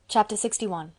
Chapter 61.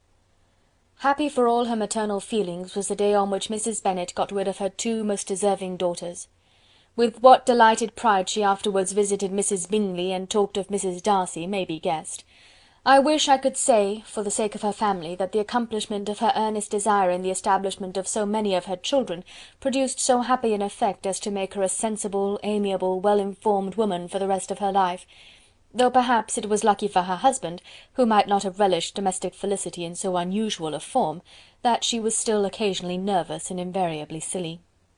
Happy for all her maternal feelings was the day on which Mrs. Bennet got rid of her two most deserving daughters. With what delighted pride she afterwards visited Mrs. Bingley and talked of Mrs. Darcy may be guessed. I wish I could say, for the sake of her family, that the accomplishment of her earnest desire in the establishment of so many of her children produced so happy an effect as to make her a sensible, amiable, well-informed woman for the rest of her life, though perhaps it was lucky for her husband, who might not have relished domestic felicity in so unusual a form, that she was still occasionally nervous and invariably silly.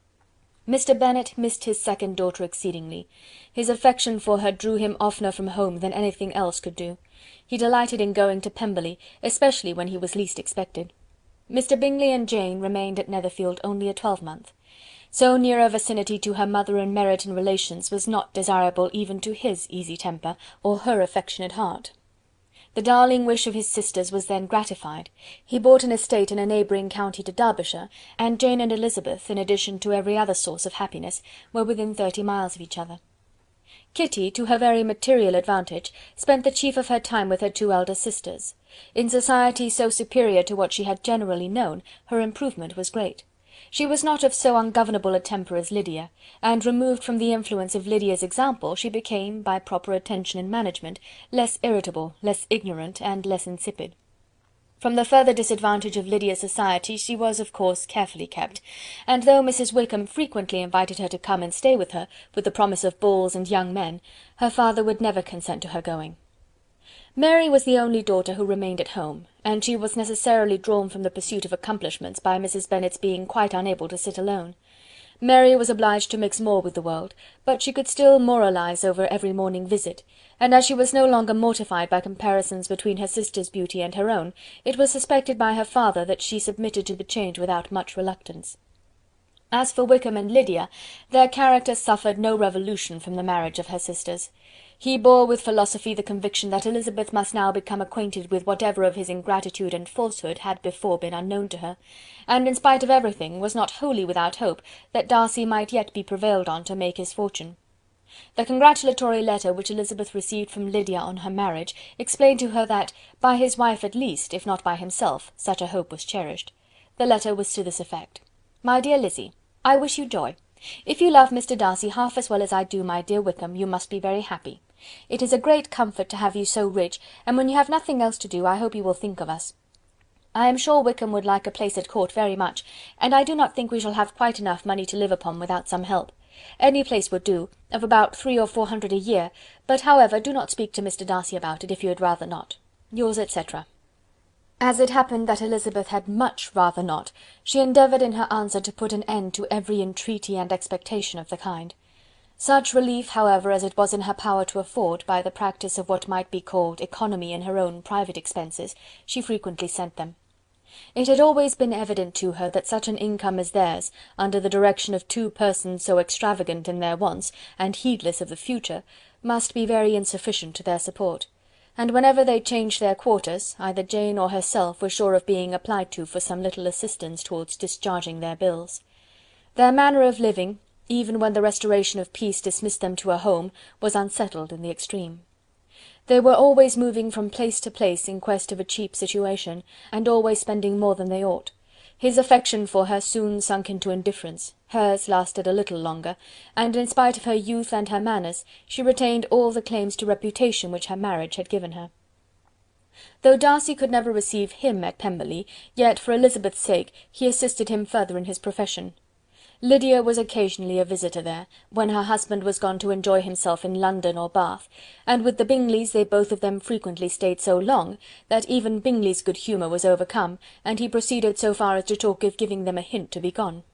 Mr. Bennet missed his second daughter exceedingly. His affection for her drew him oftener from home than anything else could do. He delighted in going to Pemberley, especially when he was least expected. Mr. Bingley and Jane remained at Netherfield only a twelvemonth. So near a vicinity to her mother and Meryton relations was not desirable even to his easy temper, or her affectionate heart. The darling wish of his sisters was then gratified. He bought an estate in a neighbouring county to Derbyshire, and Jane and Elizabeth, in addition to every other source of happiness, were within 30 miles of each other. Kitty, to her very material advantage, spent the chief of her time with her two elder sisters. In society so superior to what she had generally known, her improvement was great. She was not of so ungovernable a temper as Lydia, and removed from the influence of Lydia's example, she became, by proper attention and management, less irritable, less ignorant, and less insipid. From the further disadvantage of Lydia's society she was, of course, carefully kept, and though Mrs. Wickham frequently invited her to come and stay with her, with the promise of balls and young men, her father would never consent to her going. Mary was the only daughter who remained at home, and she was necessarily drawn from the pursuit of accomplishments by Mrs. Bennet's being quite unable to sit alone. Mary was obliged to mix more with the world, but she could still moralize over every morning visit, and as she was no longer mortified by comparisons between her sister's beauty and her own, it was suspected by her father that she submitted to the change without much reluctance. As for Wickham and Lydia, their characters suffered no revolution from the marriage of her sisters. He bore with philosophy the conviction that Elizabeth must now become acquainted with whatever of his ingratitude and falsehood had before been unknown to her, and in spite of everything was not wholly without hope that Darcy might yet be prevailed on to make his fortune. The congratulatory letter which Elizabeth received from Lydia on her marriage explained to her that, by his wife at least, if not by himself, such a hope was cherished. The letter was to this effect: "My dear Lizzy, I wish you joy. If you love Mr. Darcy half as well as I do my dear Wickham, you must be very happy. It is a great comfort to have you so rich, and when you have nothing else to do, I hope you will think of us. I am sure Wickham would like a place at court very much, and I do not think we shall have quite enough money to live upon without some help. Any place would do, of about 300 or 400 a year, but however, do not speak to Mr. Darcy about it, if you had rather not. Yours, etc." As it happened that Elizabeth had much rather not, she endeavoured in her answer to put an end to every entreaty and expectation of the kind. Such relief, however, as it was in her power to afford, by the practice of what might be called economy in her own private expenses, she frequently sent them. It had always been evident to her that such an income as theirs, under the direction of two persons so extravagant in their wants, and heedless of the future, must be very insufficient to their support, and whenever they changed their quarters, either Jane or herself were sure of being applied to for some little assistance towards discharging their bills. Their manner of living, even when the restoration of peace dismissed them to a home, was unsettled in the extreme. They were always moving from place to place in quest of a cheap situation, and always spending more than they ought. His affection for her soon sunk into indifference, hers lasted a little longer, and in spite of her youth and her manners, she retained all the claims to reputation which her marriage had given her. Though Darcy could never receive him at Pemberley, yet for Elizabeth's sake he assisted him further in his profession. Lydia was occasionally a visitor there, when her husband was gone to enjoy himself in London or Bath, and with the Bingleys they both of them frequently stayed so long, that even Bingley's good humour was overcome, and he proceeded so far as to talk of giving them a hint to be gone.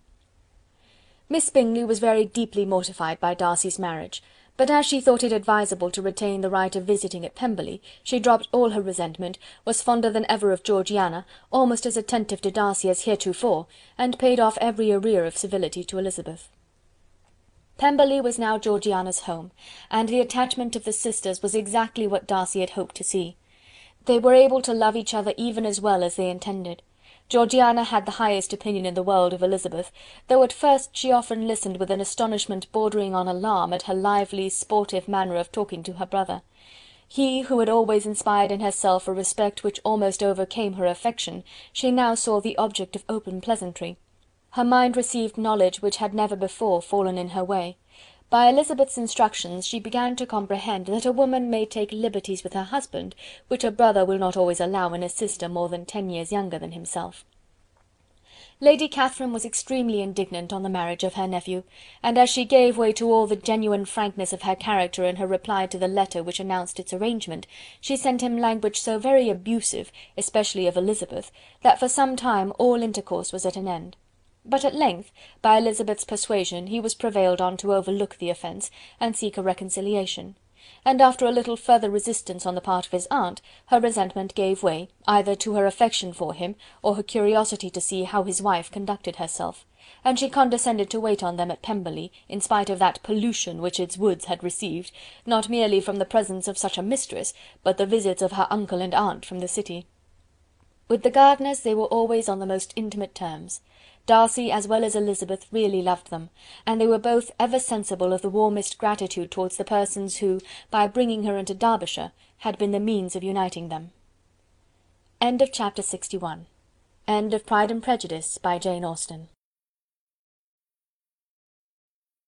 Miss Bingley was very deeply mortified by Darcy's marriage, but as she thought it advisable to retain the right of visiting at Pemberley, she dropped all her resentment, was fonder than ever of Georgiana, almost as attentive to Darcy as heretofore, and paid off every arrear of civility to Elizabeth. Pemberley was now Georgiana's home, and the attachment of the sisters was exactly what Darcy had hoped to see. They were able to love each other even as well as they intended. Georgiana had the highest opinion in the world of Elizabeth, though at first she often listened with an astonishment bordering on alarm at her lively, sportive manner of talking to her brother. He who had always inspired in herself a respect which almost overcame her affection, she now saw the object of open pleasantry. Her mind received knowledge which had never before fallen in her way. By Elizabeth's instructions she began to comprehend that a woman may take liberties with her husband, which a brother will not always allow in a sister more than 10 years younger than himself. Lady Catherine was extremely indignant on the marriage of her nephew, and as she gave way to all the genuine frankness of her character in her reply to the letter which announced its arrangement, she sent him language so very abusive, especially of Elizabeth, that for some time all intercourse was at an end. But at length, by Elizabeth's persuasion, he was prevailed on to overlook the offence, and seek a reconciliation; and after a little further resistance on the part of his aunt, her resentment gave way, either to her affection for him, or her curiosity to see how his wife conducted herself, and she condescended to wait on them at Pemberley, in spite of that pollution which its woods had received, not merely from the presence of such a mistress, but the visits of her uncle and aunt from the city. With the Gardiners they were always on the most intimate terms. Darcy as well as Elizabeth really loved them, and they were both ever sensible of the warmest gratitude towards the persons who, by bringing her into Derbyshire, had been the means of uniting them. Chapter 61. End of Pride and Prejudice by Jane Austen.